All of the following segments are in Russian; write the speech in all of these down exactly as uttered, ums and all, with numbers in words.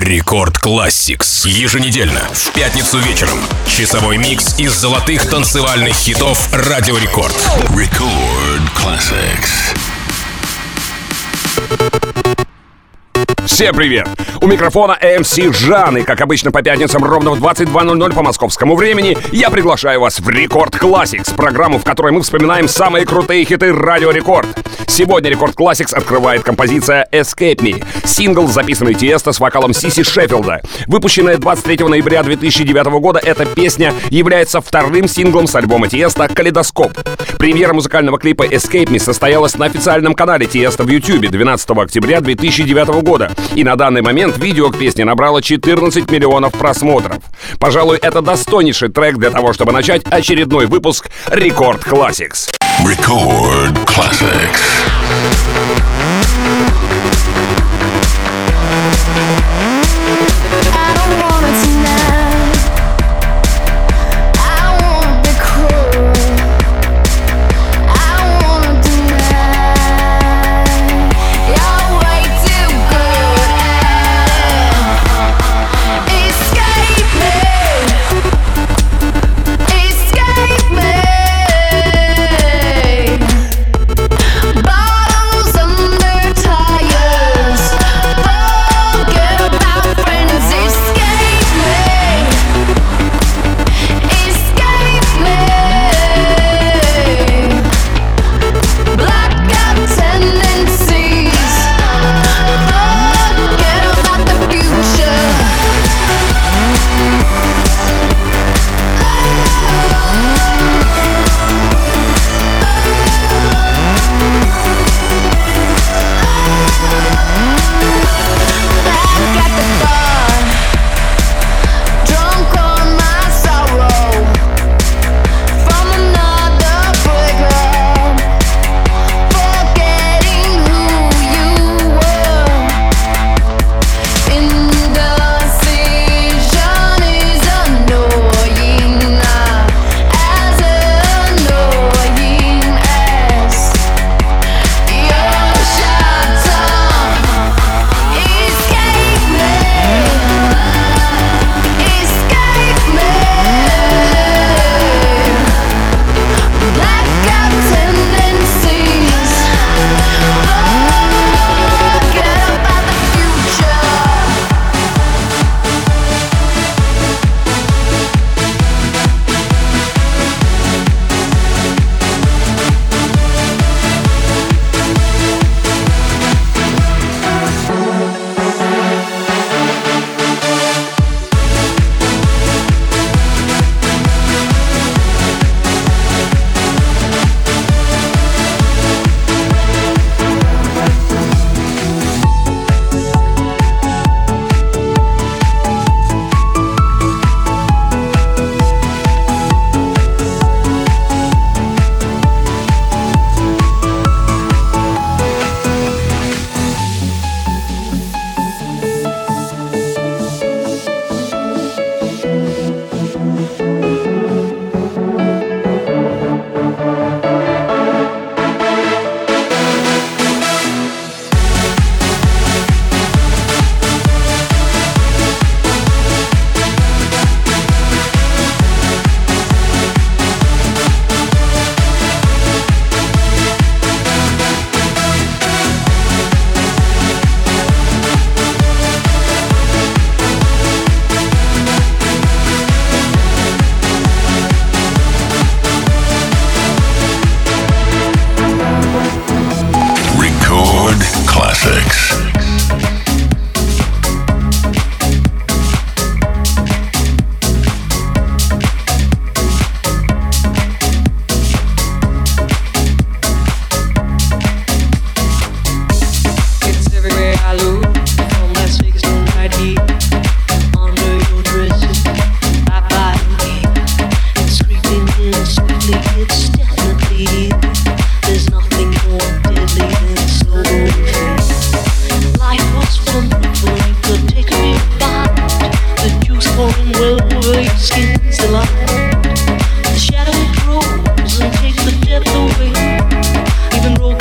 Рекорд Classics. Еженедельно, в пятницу вечером. Часовой микс из золотых танцевальных хитов Радио Рекорд. Record Classics. Всем привет! У микрофона эм си Жан, и, как обычно, по пятницам ровно в двадцать два ноль ноль по московскому времени я приглашаю вас в Рекорд Classics, программу, в которой мы вспоминаем самые крутые хиты Радио Рекорд. Сегодня Рекорд Classics открывает композиция «Escape Me», сингл, записанный Тиесто с вокалом Сиси Шеффилда. Выпущенная двадцать третьего ноября две тысячи девятого года, эта песня является вторым синглом с альбома Тиесто «Калейдоскоп». Премьера музыкального клипа «Escape Me» состоялась на официальном канале Тиесто в YouTube двенадцатого октября две тысячи девятого года. И на данный момент видео к песне набрало четырнадцать миллионов просмотров. Пожалуй, это достойнейший трек для того, чтобы начать очередной выпуск Рекорд Classics. Record Classics.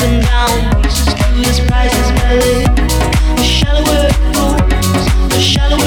Shallower it goes, the shallower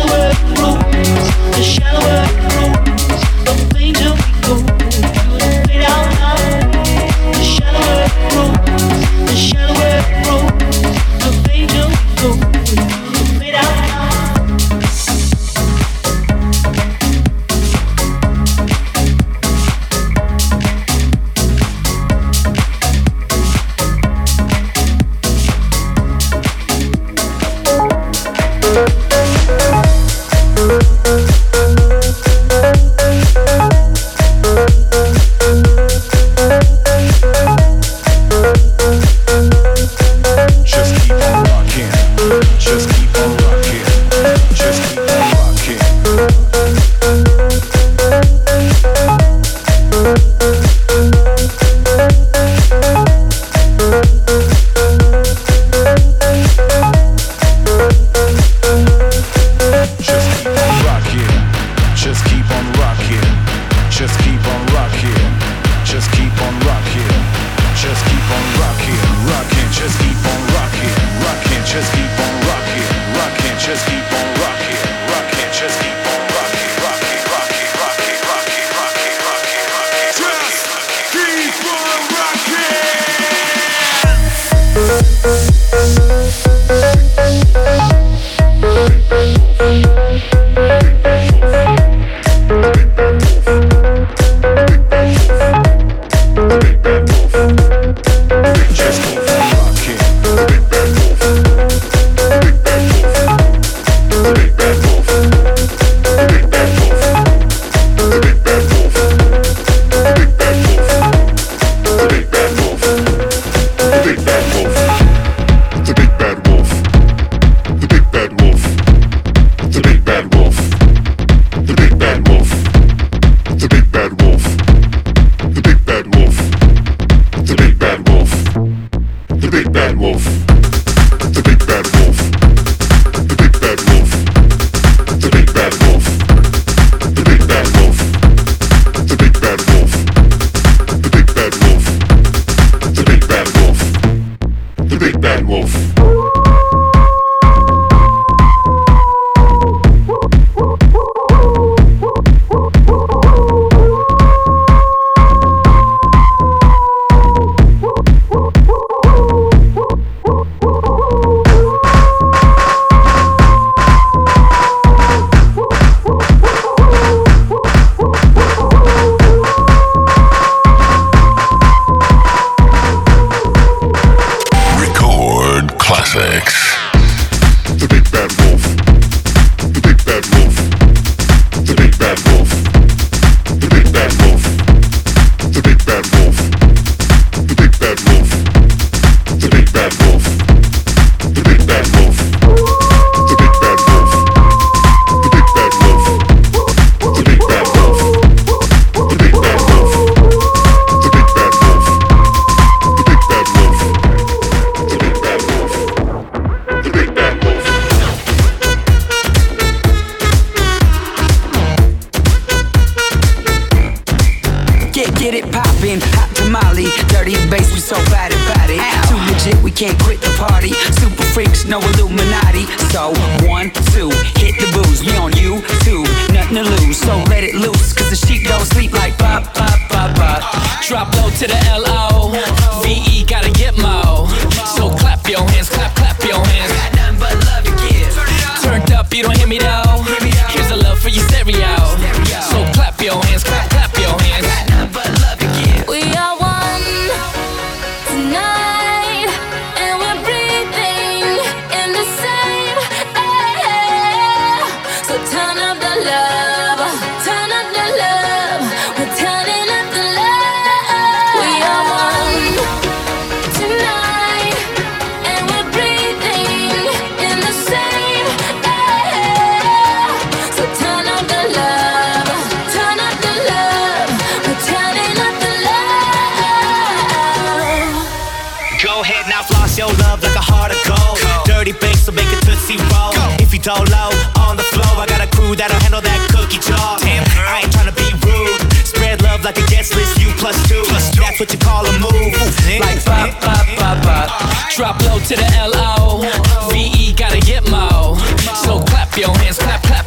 Dolo on the floor, I got a crew that'll handle that cookie jar. Damn, I ain't tryna be rude. Spread love like a guest list, you plus two. Plus two. That's what you call a move. Like bop, bop, bop, bop. Drop low to the L O. V E gotta get mo. So clap your hands, clap, clap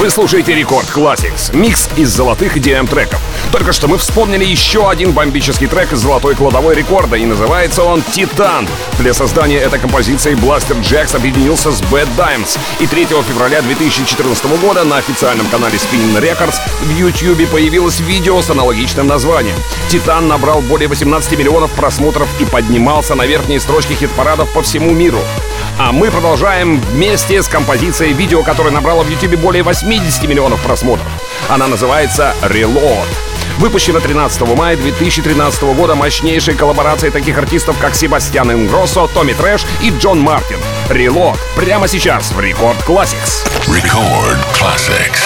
Вы слушаете Рекорд Classics, микс из золотых и ди эм-треков. Только что мы вспомнили еще один бомбический трек из золотой кладовой рекорда, и называется он «Титан». Для создания этой композиции Blaster Jaxx объединился с Bad Dimes, и третьего февраля две тысячи четырнадцатого года на официальном канале Spinnin' Records в YouTube появилось видео с аналогичным названием. «Титан» набрал более восемнадцати миллионов просмотров и поднимался на верхние строчки хит-парадов по всему миру. А мы продолжаем вместе с композицией видео, которое набрало в YouTube более восьмидесяти миллионов просмотров. Она называется «Reload». Выпущена тринадцатого мая две тысячи тринадцатого года мощнейшей коллаборацией таких артистов, как Себастьян Ингроссо, Томми Трэш и Джон Мартин. «Reload» прямо сейчас в Рекорд Classics. Record Classics.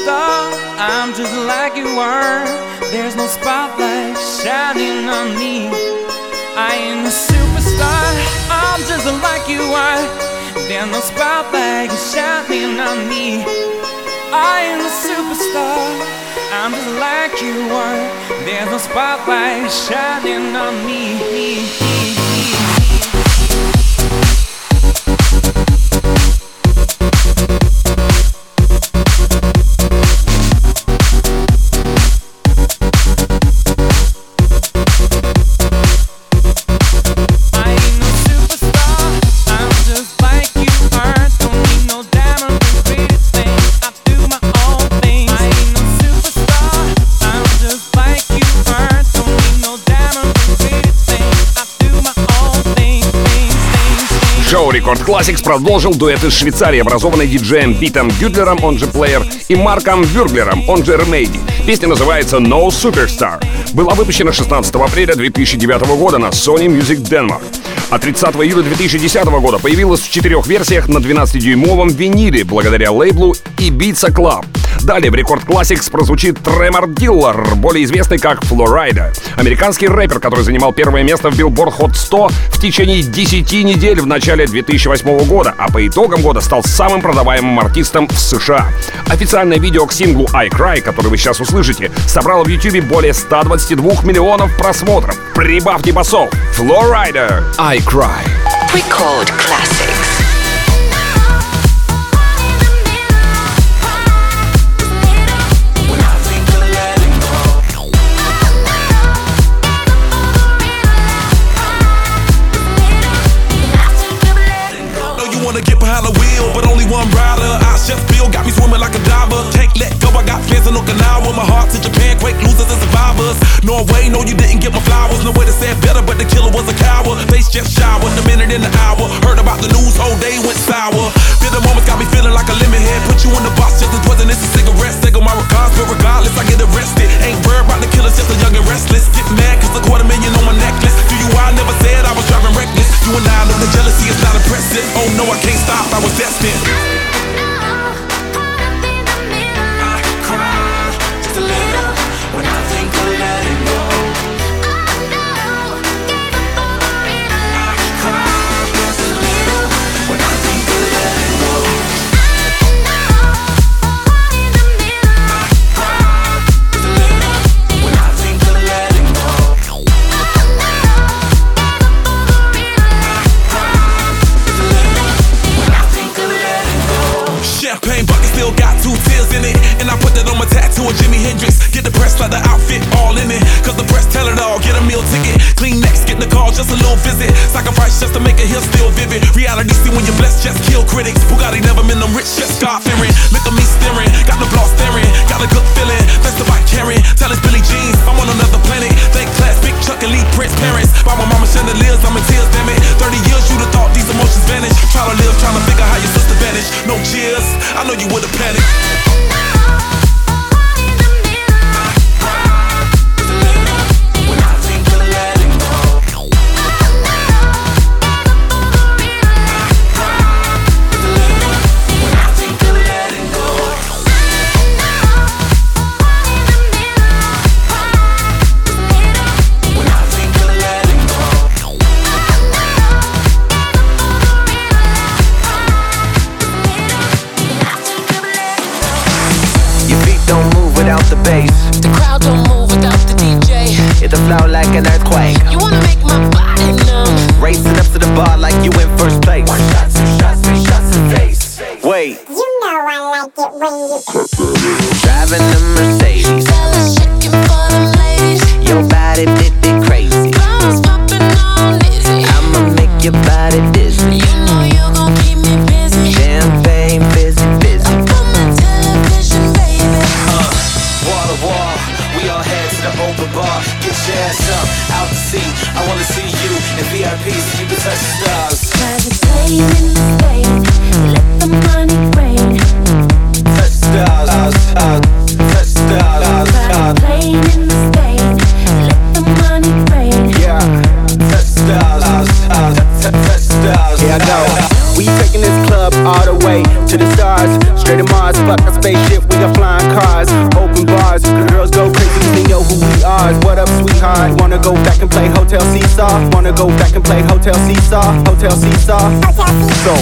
superstar, I'm just like you are. There's no spotlight shining on me. I ain't a superstar, I'm just like you are. There's no spotlight shining on me. I ain't a superstar, I'm just like you are. There's no spotlight shining on me. Шоу Рекорд Classics продолжил дуэт из Швейцарии, образованный диджеем Питом Гюдлером, он же Плеер, и Марком Вюрглером, он же Ремейди. Песня называется No Superstar. Была выпущена шестнадцатого апреля две тысячи девятого года на Sony Music Denmark. А тридцатого июля две тысячи десятого года появилась в четырех версиях на двенадцатидюймовом виниле благодаря лейблу Ibiza Club. Далее в Рекорд Classics прозвучит Тремор Диллер, более известный как Флорайда. Американский рэпер, который занимал первое место в Billboard Hot сто в течение десяти недель в начале две тысячи восьмого года, а по итогам года стал самым продаваемым артистом в США. Официальное видео к синглу I Cry, который вы сейчас услышите, собрало в YouTube более ста двадцати двух миллионов просмотров. Прибавьте басов. Флорайда, I Cry. Record Classics. One rider, I chef Bill got me swimming like a diver. Can't let go, I got fans in Okinawa. My heart to Japan, quake losers and survivors. Norway, no, you didn't get my flowers. No way to say it better, but the killer was a coward. Face just showered, a minute in the hour. Heard about the news, whole day went sour. Bitter moments got me feeling like a lemon head. Put you in the box just as poisonous as cigarettes. Take on my regards, but regardless, I get arrested. Ain't worried about the killers, just a young and restless. Get mad cause a quarter million on my necklace. Do you I never said I was driving reckless. You and I know the jealousy is not impressive. Oh no, I can't stop, I was destined. Jimi Hendrix, get the press like the outfit all in it. Cause the press tell it all, get a meal ticket. Clean next, get the call, just a little visit. Sacrifice just to make it here still vivid. Reality see when you're blessed, just kill critics. Bugatti never been them rich, just God fearing. Look at me staring, got the block staring. Got a good feeling, that's the bike carrying. Tell us Billy Jeans, I'm on another planet. Thank class, big Chuck and Lee Prince parents. By my mama chandeliers, I'm in tears, damn it. thirty years, you'd have thought these emotions vanished. Try to live, trying to figure how your sister vanished. No cheers, I know you would've panicked. The crowd don't move without the D J. It'll flow like an earthquake. You wanna make my body numb. Racing up to the bar like you in first place. One shot, two shots, three shots in face. Wait. You know I like it when you driving a Mercedes. Fellas shaking for them ladies. Your body fit it crazy. Bottles popping on dizzy. I'ma make your body dizzy. You know you gon' keep me busy. Champagne fizzy fizzy. Up on the television, baby. Uh, wall to wall, we all head to the open bar. Get your ass up, out the seat. I wanna see you in V I P so you can touch the stars. Cause it's playing in the state. Let the money rain. Touch the stars, stars, touch the stars, stars. Playing in the state. Let the money rain. Yeah, touch the stars, stars, touch the stars. Yeah, I know. We taking this club all the way to the stars. Straight to Mars, fuck a spaceship, we got flying cars. go back and play Hotel Seesaw. Wanna go back and play Hotel Seesaw. Hotel Seesaw. Go.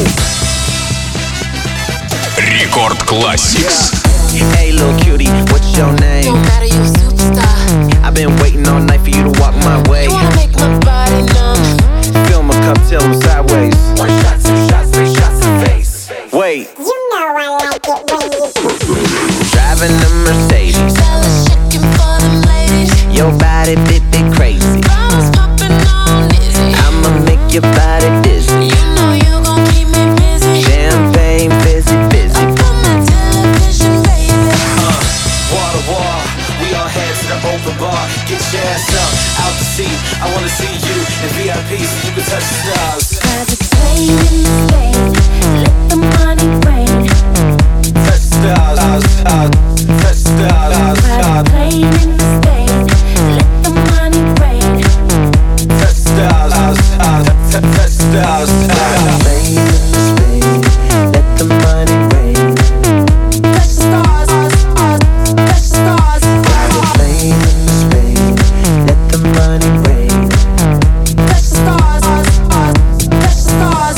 Рекорд Classics. Hey little cutie, what's your name? Don't matter, you a superstar. I've been waiting all night for you to walk my way. You wanna make my body numb. Fill my cup till I'm sideways. One shot, two shots, three shots in face. Wait. You know I like it when you Driving a Mercedes. Fellas checking for them ladies. Your body bit bit crazy. Bottles popping on dizzy. I'ma make your body dizzy. You know you gon' keep me busy. Champagne busy, busy. Up on my television, baby. Uh, wall to wall, we all head to the open bar. Get your ass up, out the seat. I wanna see you in V I P so you can touch the stars. Cause it's rain in the state. Let the money rain. Touch the stars, stars, touch the stars, stars. Rain in the state. Let the money rain. Touch the stars, stars, touch the stars, stars. Rain in the state. Let the money rain. Touch the stars, stars, touch the stars. Rain in the state. Let the money rain. Touch the stars, stars, touch the stars.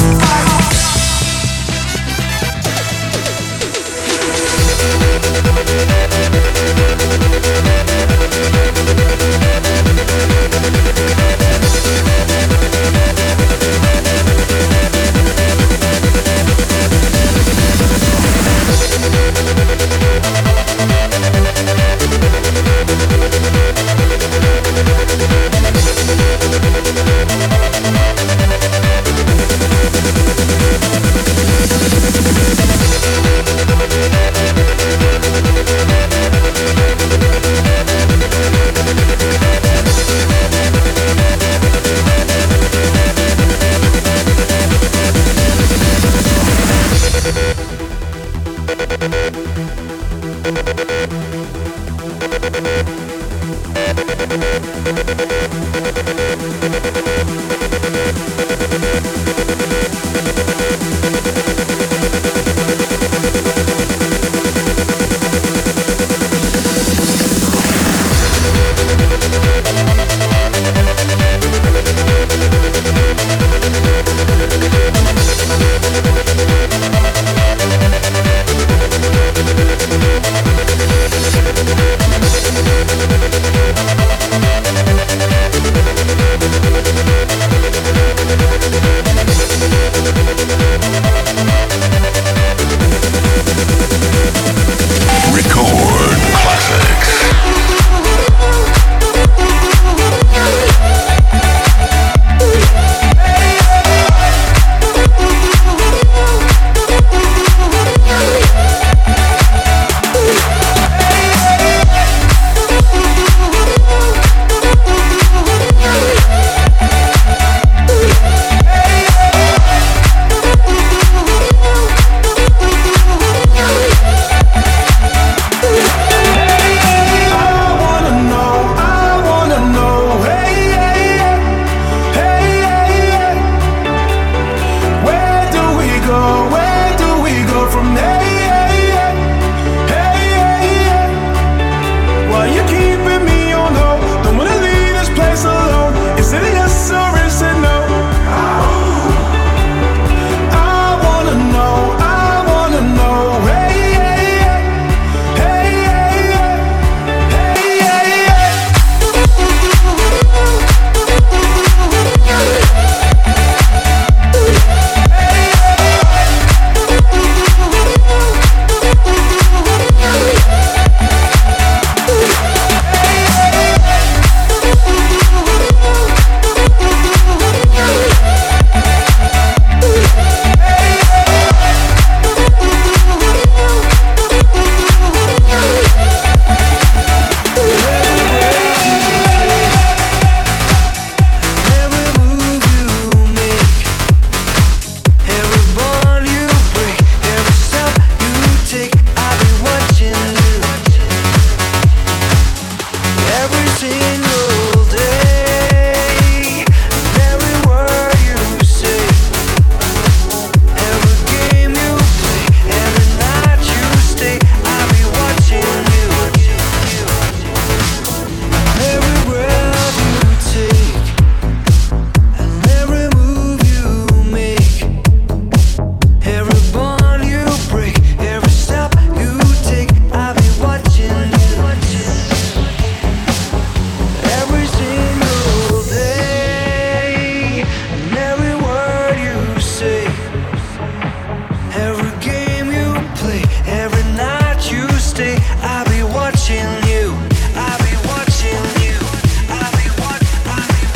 watching you. I'll be watching you. I'll be watching.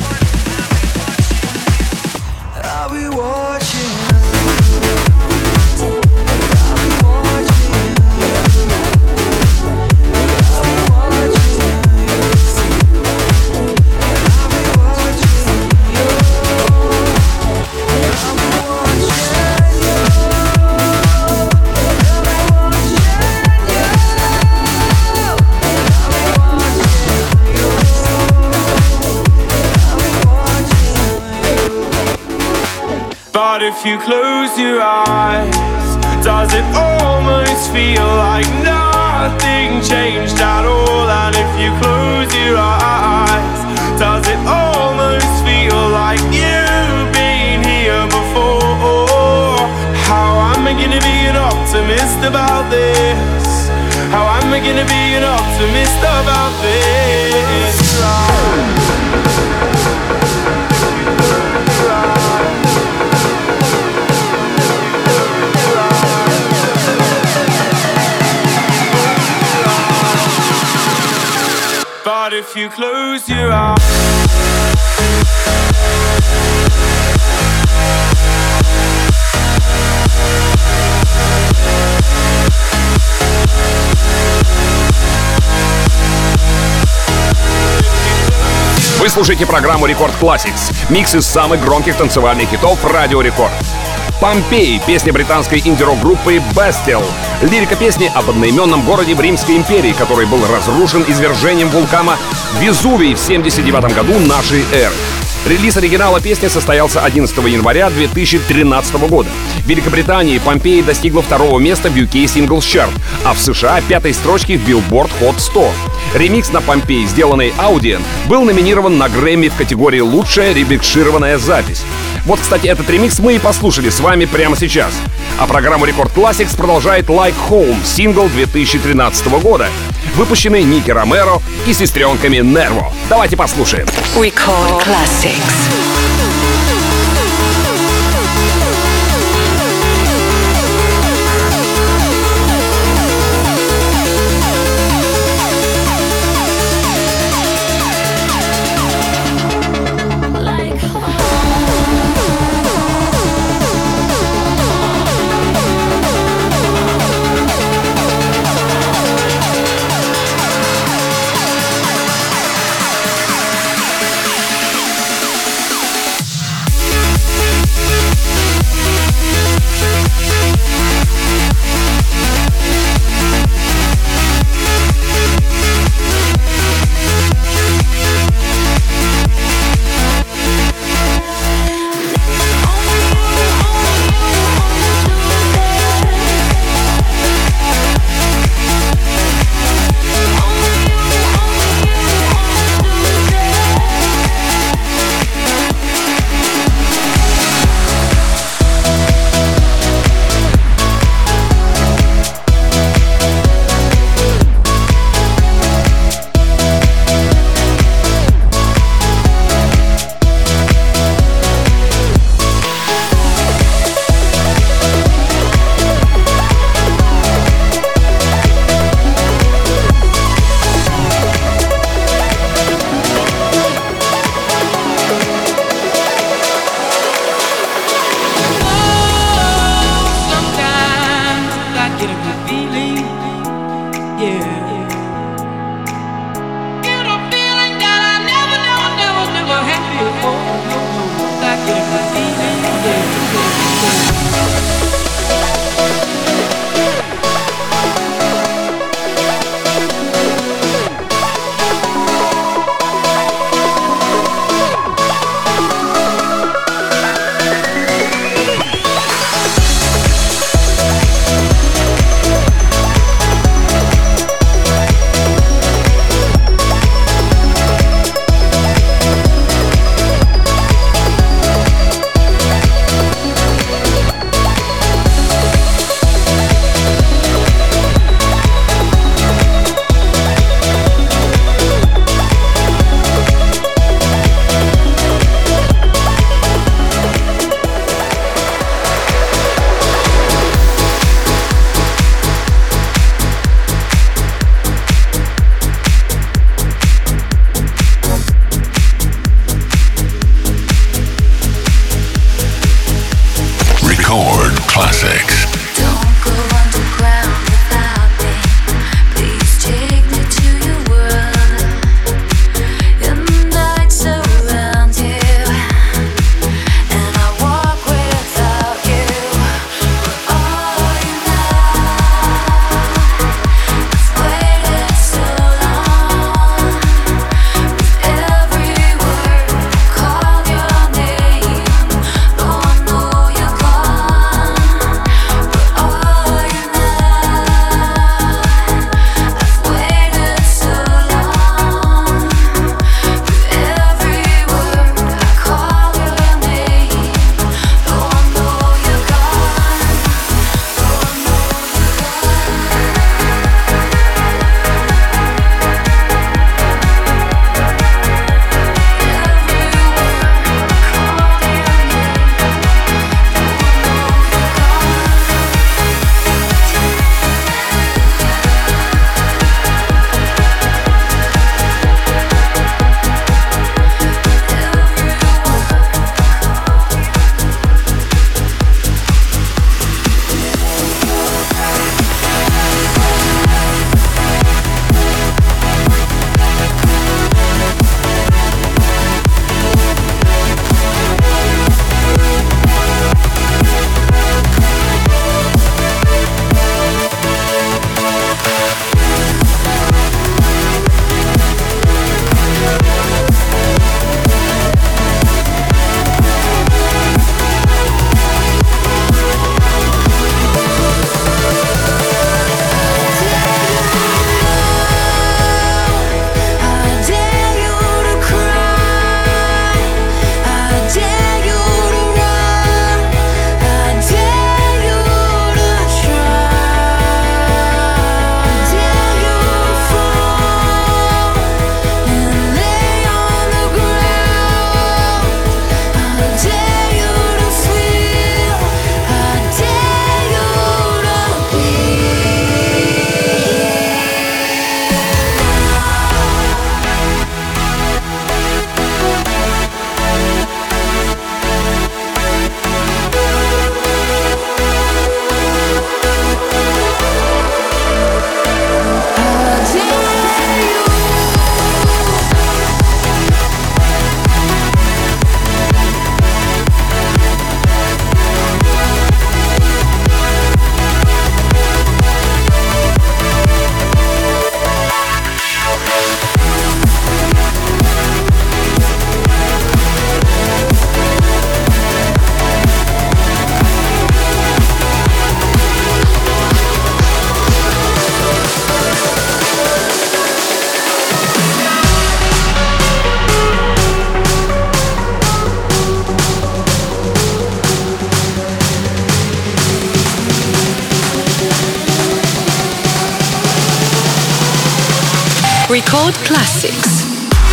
I'll be watching. But if you close your eyes, does it almost feel like nothing changed at all? And if you close your eyes, does it almost feel like you've been here before? How am I gonna be an optimist about this? How am I gonna be an optimist about this? But if you close your eyes, вы слушаете программу Рекорд Classics, микс из самых громких танцевальных хитов Радио Рекорд. «Помпей» — песня британской инди-рок группы Bastille. Лирика песни об одноименном городе в Римской империи, который был разрушен извержением вулкана Везувий в семьдесят девятом году нашей эры. Релиз оригинала песни состоялся одиннадцатого января две тысячи тринадцатого года. В Великобритании «Помпей» достигла второго места в ю кей Singles Chart, а в США — пятой строчки в Billboard Hot сто. Ремикс на «Помпей», сделанный Audien, был номинирован на Грэмми в категории «Лучшая ремикшированная запись». Вот, кстати, этот ремикс мы и послушали с вами прямо сейчас. А программу Рекорд Classics продолжает Like Home, сингл две тысячи тринадцатого года, выпущенный Ники Ромеро и сестренками Нерво. Давайте послушаем. Record Classics. Record Classics.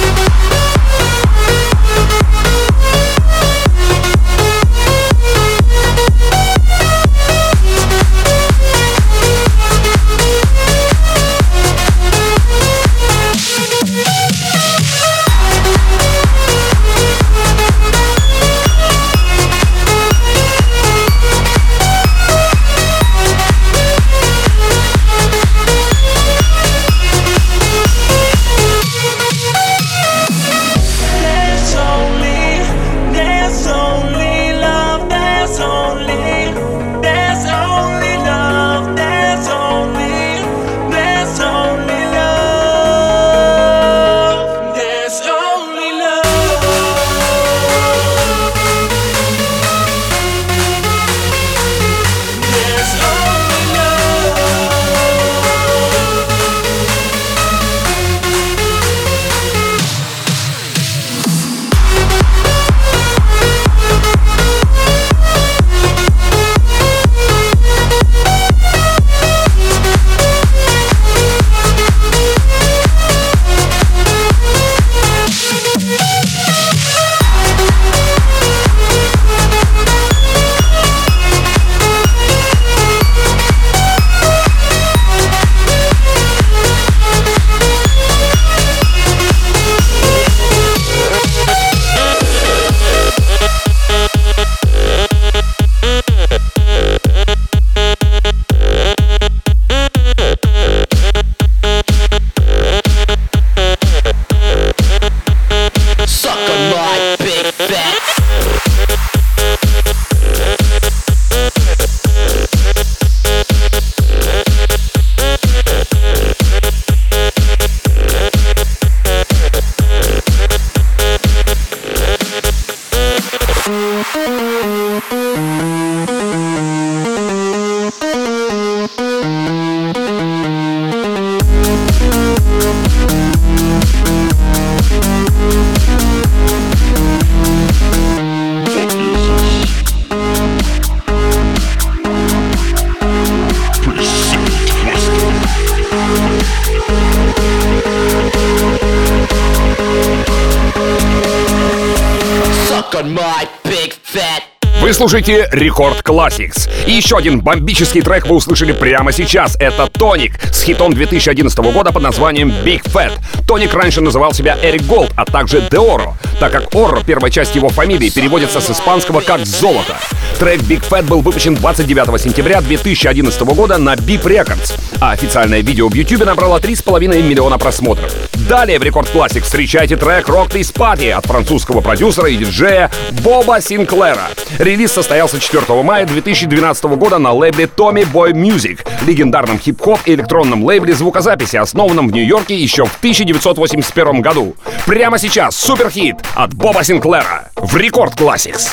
Вы слушаете Рекорд Classics. И еще один бомбический трек вы услышали прямо сейчас. Это Тоник с хитом две тысячи одиннадцатого года под названием Big Fat. Тоник раньше называл себя Эрик Голд, а также Деоро, так как Орро, первая часть его фамилии, переводится с испанского как «золото». Трек Big Fat был выпущен двадцать девятого сентября две тысячи одиннадцатого года на Beep Records, а официальное видео в YouTube набрало три с половиной миллиона просмотров. Далее в Рекорд Classics встречайте трек Rock This Party от французского продюсера и диджея Боба Синклера. Релиз состоялся четвёртого мая две тысячи двенадцатого года на лейбле Tommy Boy Music, легендарном хип-хоп и электронном лейбле звукозаписи, основанном в Нью-Йорке еще в тысяча девятьсот восемьдесят первом году. Прямо сейчас суперхит от Боба Синклера в Рекорд Classics.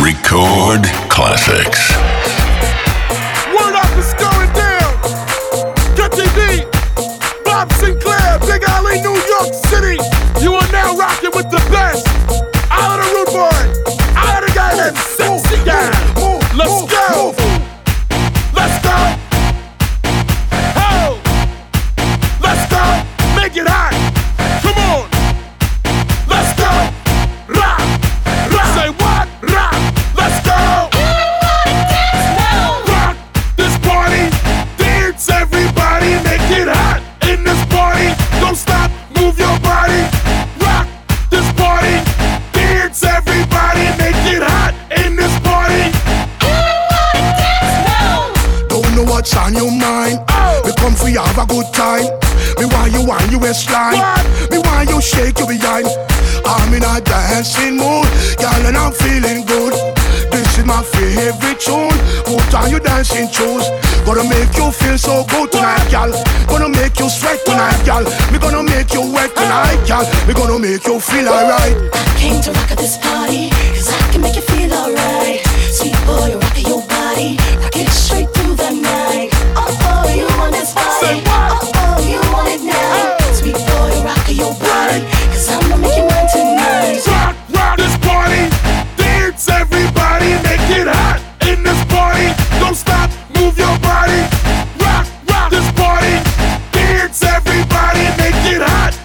Record Classics. Word up is going down. Get T V, Bob Sinclair, Big Alley, New York City. You are now rocking with the best. Out of the rude boy. Out of the guy that's sexy guy. Let's go. Let's go. Ho. Let's go. Make it hot. Come on. Let's go. Rock. Rock. Say what? Rock. Let's go. Rock this party. Dance everybody. Make it hot in this party. Don't stop. Move your body. Rock this party. Dance everybody. Make it hot in this party. Don't know what's on your mind. Oh. We come for you have a good time. Me want you want you waistline. Me want you shake your behind. I'm in a dancing mood, girl, and I'm feeling good. This is my favorite tune. Put on your dancing shoes. Gonna make you feel so good tonight, girl. Gonna make you sweat tonight, girl. Me gonna make you wet tonight, girl. Me gonna make you feel alright. I came to rock at this party, cause I can make you feel alright. Sweet boy, rockin' your body, rock it straight through the night. Oh, oh, you want this body? Oh, oh, you want it now? Sweet boy, rockin' your body, cause I'm gonna make you mine tonight. Rock, rock this party. Dance everybody. Make it hot in this party. Don't stop. Move your body. Rock, rock this party. Dance everybody. Make it hot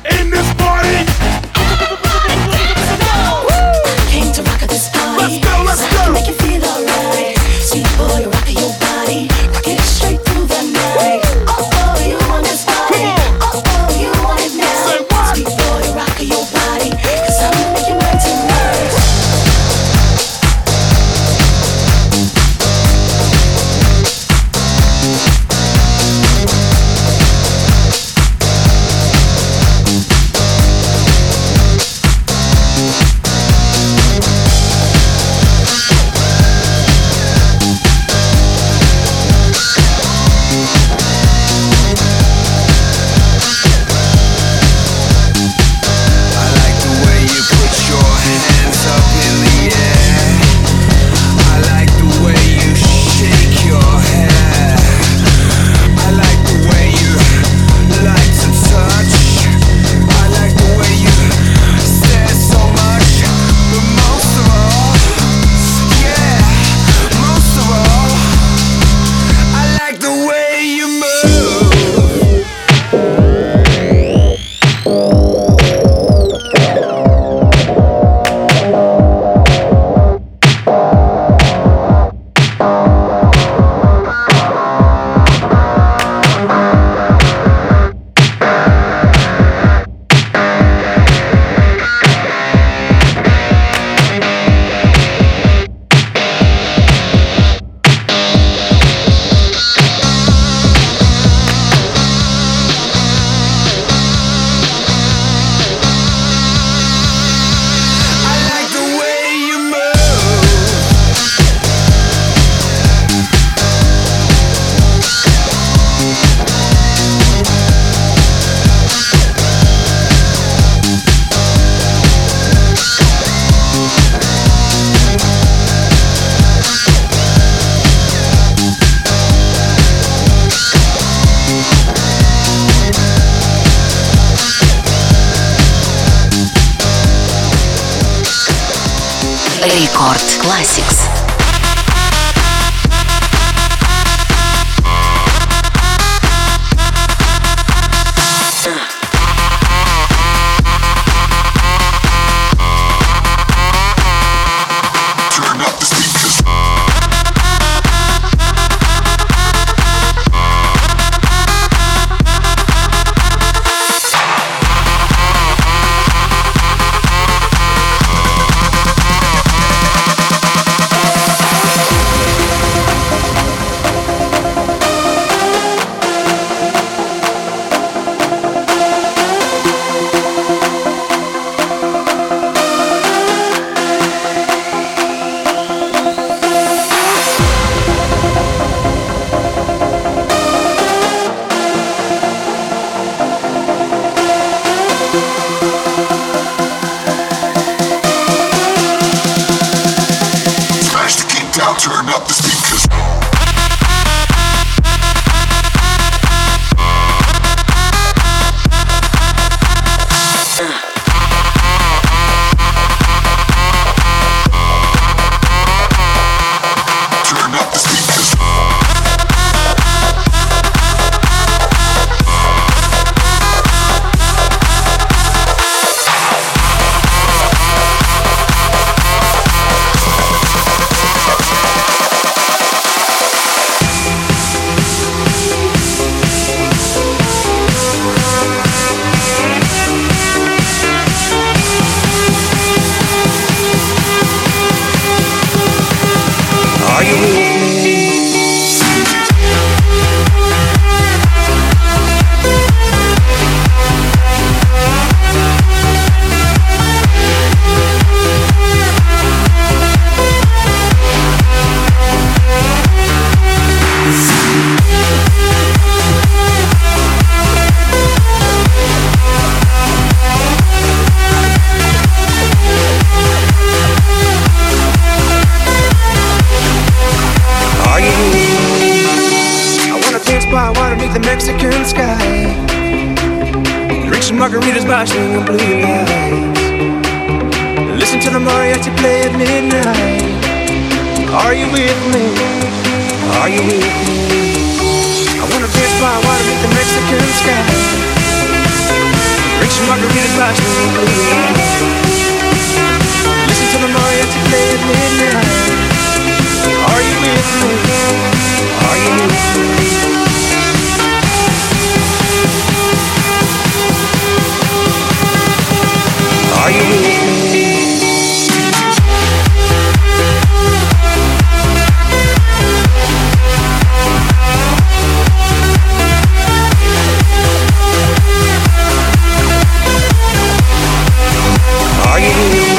Record Classics. Margaritas by swinging blue lights. Listen to the mariachi play at midnight. Are you with me? Are you with me? I wanna dance by water beneath the Mexican sky. Drink some margaritas by swinging blue lights. Listen to the mariachi play at midnight. Are you with me? Are you with me? Are you with me? Are you with me?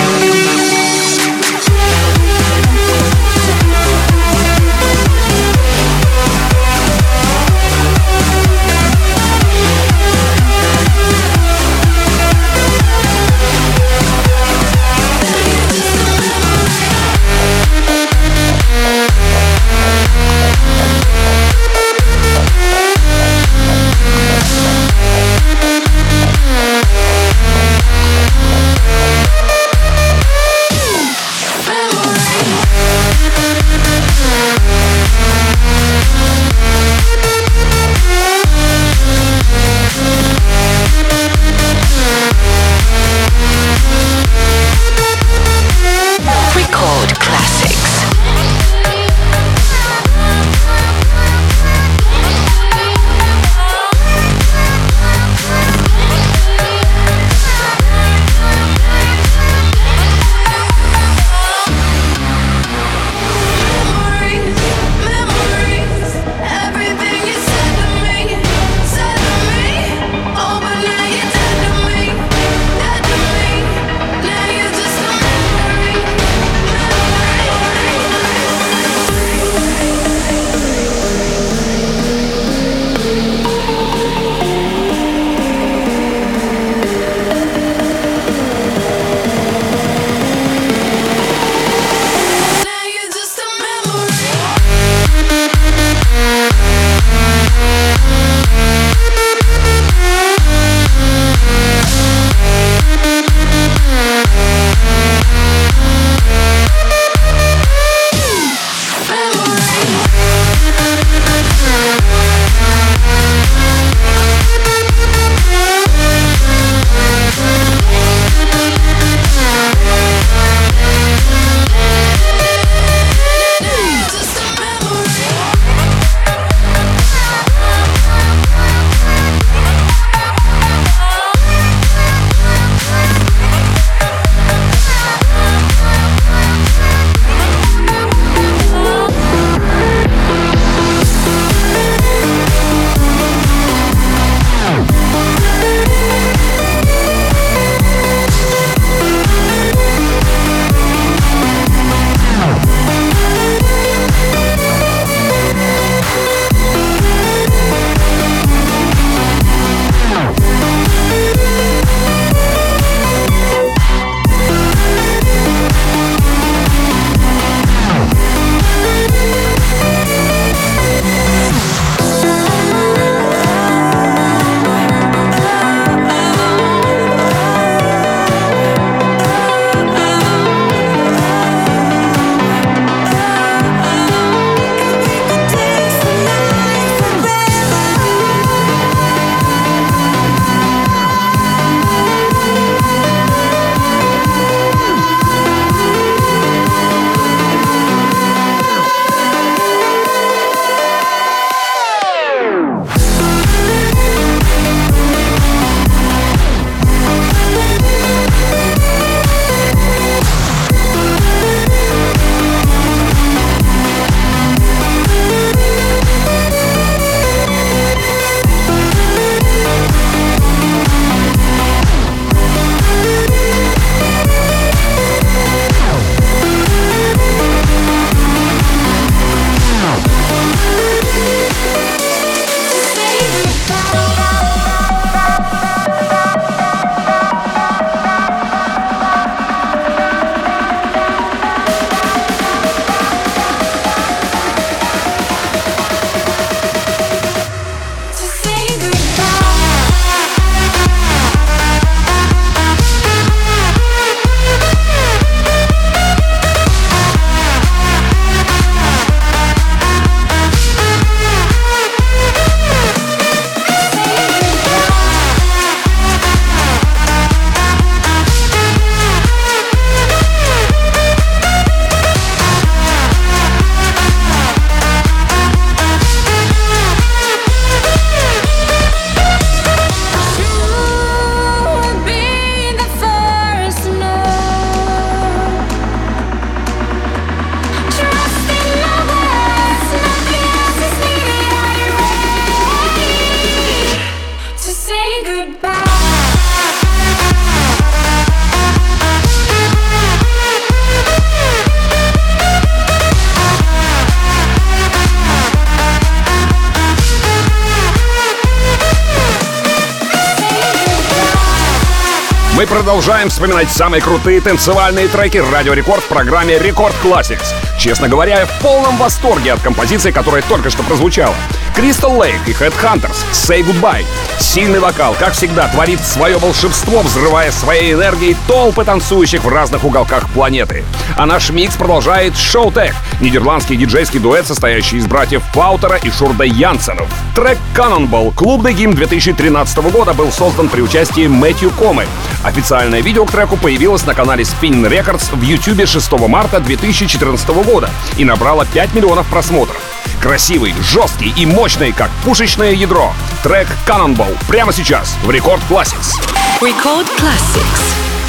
Мы продолжаем вспоминать самые крутые танцевальные треки Радио Рекорд в программе Рекорд Classics. Честно говоря, я в полном восторге от композиции, которая только что прозвучала. Crystal Lake и Headhunters «Say Goodbye». Сильный вокал, как всегда, творит свое волшебство, взрывая своей энергией толпы танцующих в разных уголках планеты. А наш микс продолжает Showtek, нидерландский диджейский дуэт, состоящий из братьев Паутера и Шурда Янсенов. Трек «Cannonball», клубный гимн две тысячи тринадцатого года, был создан при участии Мэтью Комы. Официальное видео к треку появилось на канале Spin Records в YouTube шестого марта две тысячи четырнадцатого года и набрало пять миллионов просмотров. Красивый, жесткий и мощный, как пушечное ядро. Трек «Cannonball» прямо сейчас в Рекорд Classics. Рекорд Classics.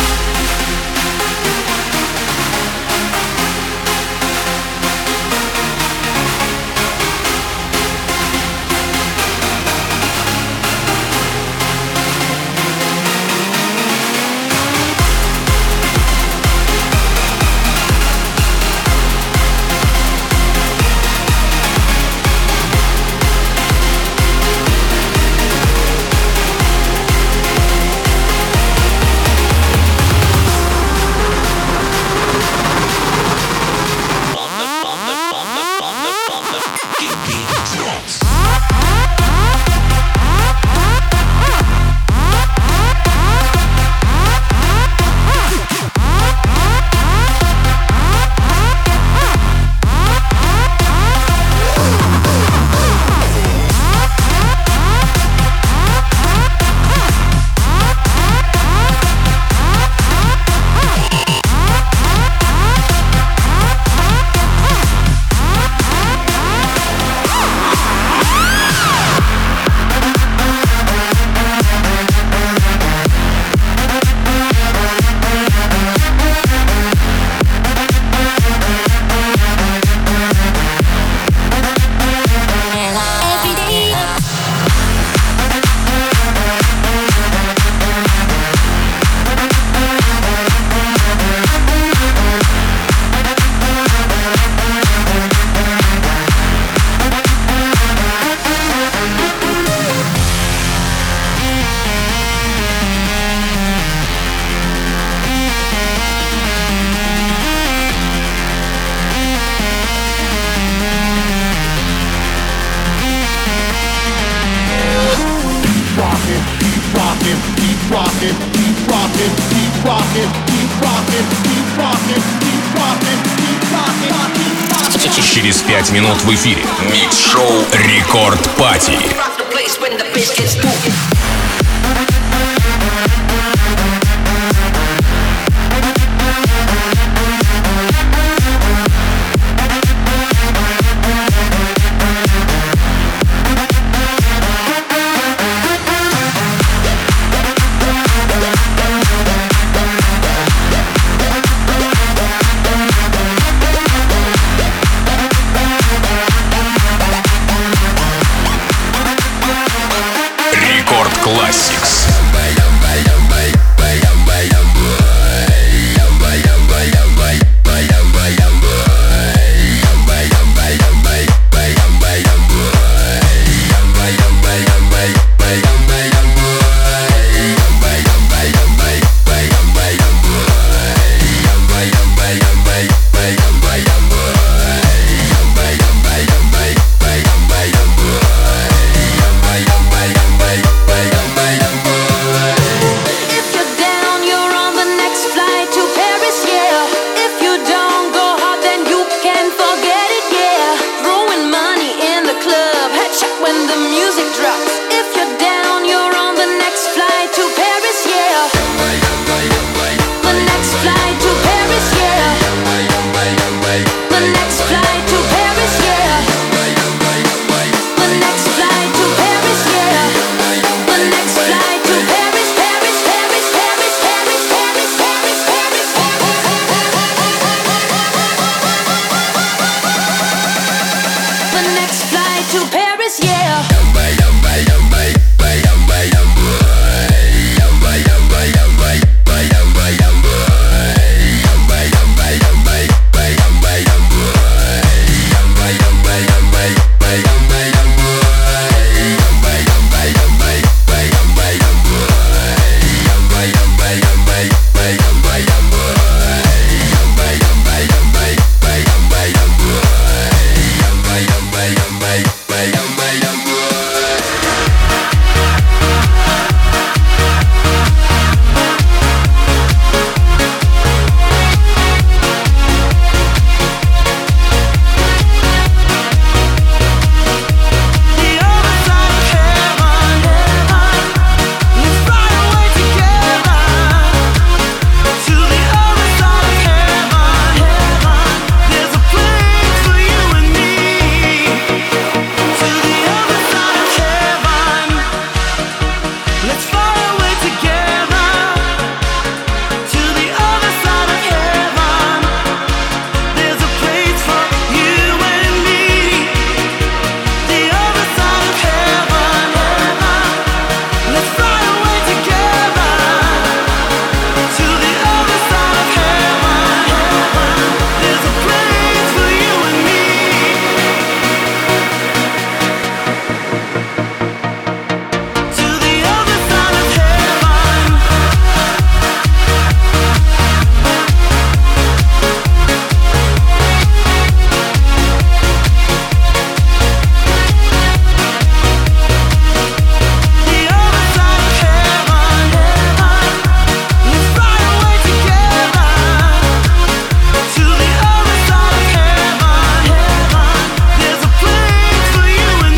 Через пять минут в эфире микс-шоу Рекорд Пати. Классик.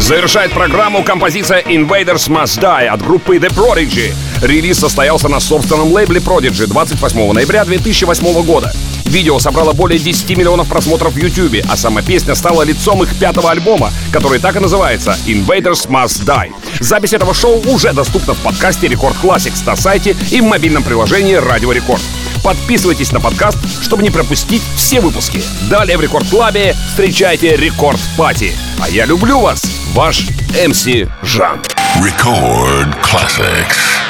Завершает программу композиция Invaders Must Die от группы The Prodigy. Релиз состоялся на собственном лейбле Prodigy двадцать восьмого ноября две тысячи восьмого года. Видео собрало более десяти миллионов просмотров в YouTube, а сама песня стала лицом их пятого альбома, который так и называется Invaders Must Die. Запись этого шоу уже доступна в подкасте Record Classics на сайте и в мобильном приложении Радио Рекорд. Подписывайтесь на подкаст, чтобы не пропустить все выпуски. Далее в Рекорд Клабе встречайте Рекорд Пати. А я люблю вас, ваш эм си Жан. Record Classics.